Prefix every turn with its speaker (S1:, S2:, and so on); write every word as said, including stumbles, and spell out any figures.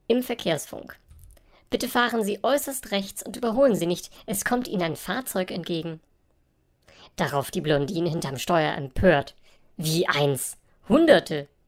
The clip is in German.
S1: Im Verkehrsfunk. Bitte fahren Sie äußerst rechts und überholen Sie nicht, es kommt Ihnen ein Fahrzeug entgegen. Darauf die Blondine hinterm Steuer empört. Wie eins? Hunderte!